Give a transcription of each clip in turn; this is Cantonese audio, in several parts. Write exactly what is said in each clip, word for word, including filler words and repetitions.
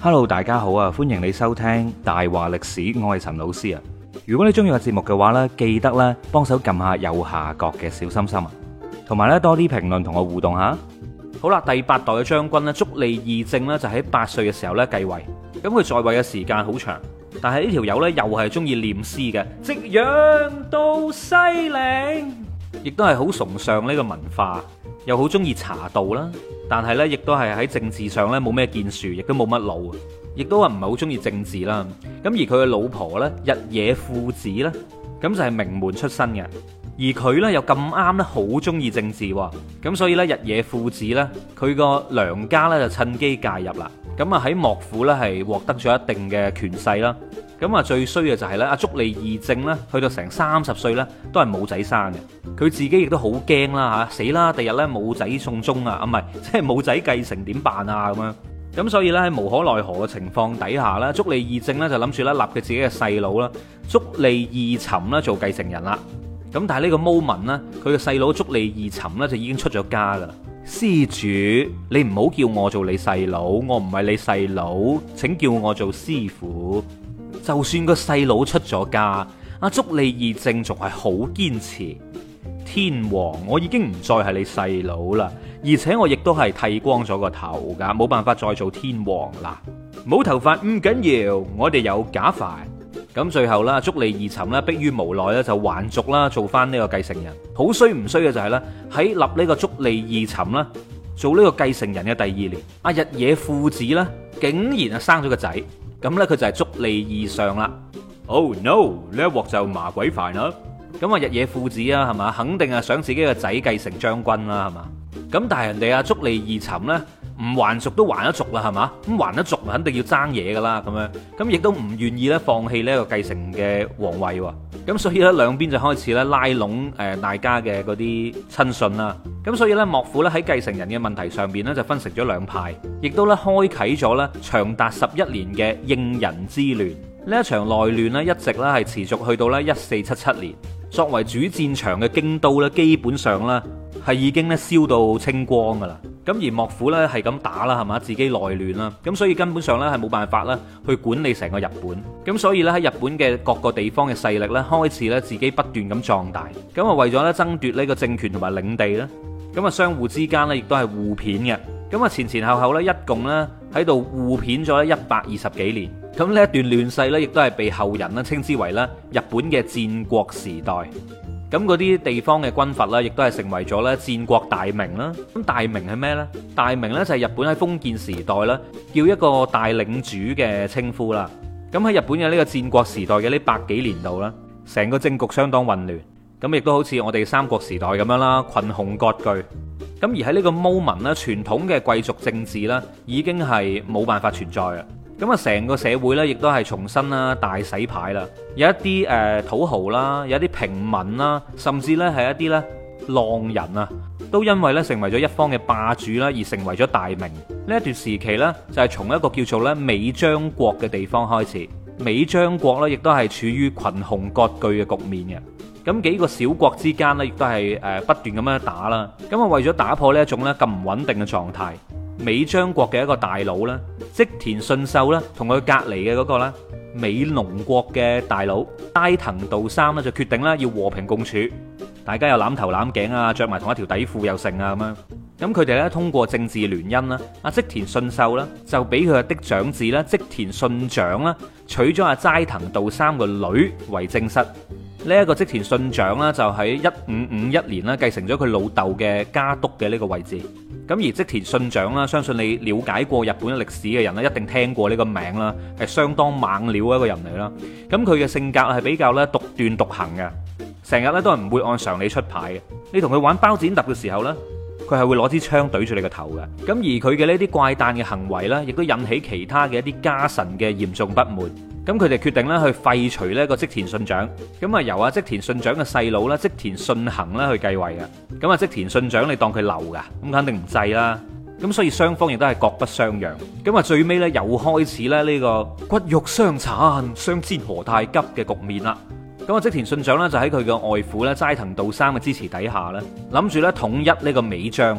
Hello，大家好啊！歡迎你收聽大話歷史，我係陳老師啊。如果你中意個節目嘅話呢，記得咧幫手撳下右下角嘅小心心啊，同埋咧多啲評論同我互動下。好啦，第八代嘅將軍咧，足利義政咧就喺八歲嘅時候咧繼位，咁佢在位嘅時間好長，但係呢條友咧又係中意念詩嘅，夕陽到西嶺，亦都係好崇尚呢個文化，又好中意茶道啦。但係咧，亦都係喺政治上咧冇咩建樹，亦都冇乜腦，亦都話唔係好中意政治啦。咁而佢嘅老婆咧，日野富子咧，咁就係名門出身嘅。而佢咧又咁啱咧，好中意政治喎，咁所以咧日野富子咧，佢個娘家咧就趁機介入啦，咁啊喺幕府咧係獲得咗一定嘅權勢啦，咁啊最衰嘅就係咧阿足利義政咧，去到成三十歲咧都係冇仔生嘅，佢自己亦都好驚啦嚇，死啦！第日咧冇仔送終啊，啊唔係即係冇仔繼承點辦啊咁樣，咁所以咧喺無可奈何嘅情況底下咧，足利義政咧就諗住咧立佢自己嘅細佬啦，足利義尋啦做繼承人啦。咁但係呢個 moment 呢，佢嘅細佬足利義尋呢就已經出咗家噶啦。施主，你唔好叫我做你細佬，我唔係你細佬，請叫我做師傅。就算個細佬出咗家，阿足利義政仲係好堅持。天皇，我已經唔再係你細佬啦，而且我亦都係剃光咗個頭噶，冇辦法再做天皇啦。冇頭髮唔緊要，我哋有假髮。咁最後啦，足利義尋咧，迫於無奈咧，就還俗啦，做翻呢個繼承人。好衰唔衰嘅就係咧，喺立呢個足利義尋啦，做呢個繼承人嘅第二年，阿日野富子咧，竟然啊生咗個仔。咁咧佢就係足利義尚啦。Oh no！呢一鑊就麻鬼煩啦。咁啊日野富子啊，係嘛，肯定係想自己個仔繼承將軍啦，係嘛。咁但係人哋阿足利義尋咧，唔還俗都還得俗啦，係嘛？咁還得俗，肯定要爭嘢噶啦，咁樣咁亦都唔願意咧放棄呢一個繼承嘅皇位喎。咁所以咧兩邊就開始咧拉攏誒大家嘅嗰啲親信啦。咁所以咧幕府咧喺繼承人嘅問題上邊咧就分成咗兩派，亦都咧開啟咗咧長達十一年嘅應仁之亂。呢一場內亂咧一直咧係持續去到咧一四七七年。作為主戰場嘅京都咧，基本上咧係已經咧燒到清光噶啦。咁而幕府咧係咁打啦，係嘛，自己內亂啦，咁所以根本上咧係冇辦法啦去管理成個日本。咁所以咧喺日本嘅各個地方嘅勢力咧開始咧自己不斷咁壯大。咁啊為咗咧爭奪呢個政權同埋領地咧，咁啊相互之間咧亦都係互騙嘅。咁啊前前後後咧一共咧喺度互騙咗一百二十幾年。咁呢一段亂世咧亦都係被後人咧稱之為咧日本嘅戰國時代。咁嗰啲地方嘅軍閥啦，亦都係成為咗咧戰國大名啦。咁大名係咩呢？大名呢就係日本喺封建時代啦，叫一個大領主嘅稱呼啦。咁喺日本嘅呢個戰國時代嘅呢百幾年度啦，成個政局相當混亂。咁亦都好似我哋三國時代咁樣啦，群雄割據。咁而喺呢個 moment 咧，傳統嘅貴族政治啦，已經係冇辦法存在啦。咁啊，成個社會咧，亦都係重新啦，大洗牌啦。有一啲誒土豪啦，有一啲平民啦，甚至咧係一啲咧浪人啊，都因為咧成為咗一方嘅霸主啦，而成為咗大名。呢一段時期咧，就係從一個叫做咧尾張國嘅地方開始。尾張國咧，亦都係處於群雄割據嘅局面嘅。咁幾個小國之間咧，亦都係誒不斷咁樣打啦。咁啊，為咗打破呢一種咧咁唔穩定嘅狀態，尾張國嘅一個大佬咧，織田信秀咧，同佢隔離嘅嗰個咧，尾農國嘅大佬齋藤道三咧，就決定咧要和平共處，大家又攬頭攬頸啊，着埋同一條底褲又成啊咁樣。咁佢哋咧通過政治聯姻啦，阿織田信秀咧就俾佢嘅長子咧織田信長啦娶咗阿齋藤道三個女為正室。呢一個織田信長咧就喺一五五一年咧繼承咗佢老豆嘅家督嘅呢個位置。咁而織田信長啦，相信你了解過日本歷史嘅人咧，一定聽過呢個名啦，係相當猛料一個人嚟啦。咁佢嘅性格係比較咧獨斷獨行嘅，成日咧都係唔會按常理出牌嘅。你同佢玩包剪揼嘅時候咧，佢係會攞支槍對住你個頭嘅。咁而佢嘅呢啲怪誕嘅行為咧，亦都引起其他嘅一啲家臣嘅嚴重不滿。咁佢哋決定咧去廢除呢個織田信長，咁啊由阿織田信長嘅細佬啦織田信行咧去繼位嘅。咁啊織田信長你當佢流噶，咁肯定唔制啦。咁所以雙方亦都係各不相讓。咁啊最尾咧又開始咧呢個骨肉相殘、相煎何太急嘅局面啦。咁啊織田信長咧就喺佢嘅外父咧齋藤道三嘅支持底下咧，諗住咧統一呢個尾張。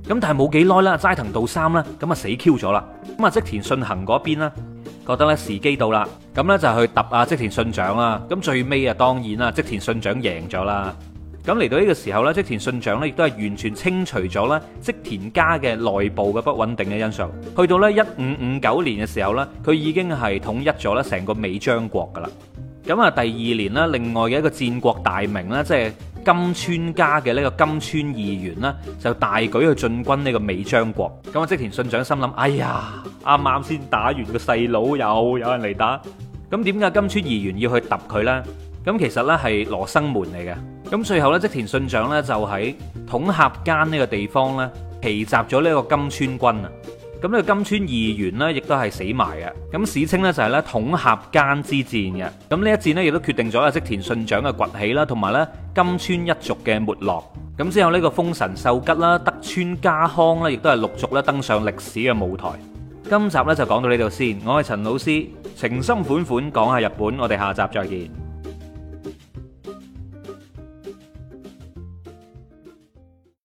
咁但係冇幾耐啦，齋藤道三咧咁啊死 Q 咗啦。咁啊織田信行嗰邊咧覺得咧時機到啦，咁咧就去揼啊織田信長啦。咁最尾啊當然啦，織田信長贏咗啦。咁嚟到呢個時候咧，織田信長咧亦都係完全清除咗咧織田家嘅內部嘅不穩定嘅因素。去到咧一五五九年嘅時候咧，佢已經係統一咗咧成個尾張國噶啦。咁啊第二年咧，另外嘅一個戰國大名咧，即係今川家嘅呢個今川義元呢，就大舉去進軍呢個尾張國。咁啊織田信長心諗：哎呀，啱啱先打完個細佬，又有人嚟打。咁點解今川義元要去揼佢呢？咁其實呢係羅生門嚟嘅。咁最後呢，織田信長呢就喺統合間呢個地方呢，奇襲咗呢個今川軍啊。咁呢個今川義元呢，亦都係死埋嘅。咁史稱呢，就係咧統合間之戰嘅。咁呢一戰呢，亦都決定咗啊織田信長嘅崛起啦，同埋咧今川一族嘅沒落。咁之後呢個豐臣秀吉啦、德川家康呢，亦都係陸續咧登上歷史嘅舞台。今集呢，就講到呢度先。我係陳老師，情深款款講下日本，我哋下集再見。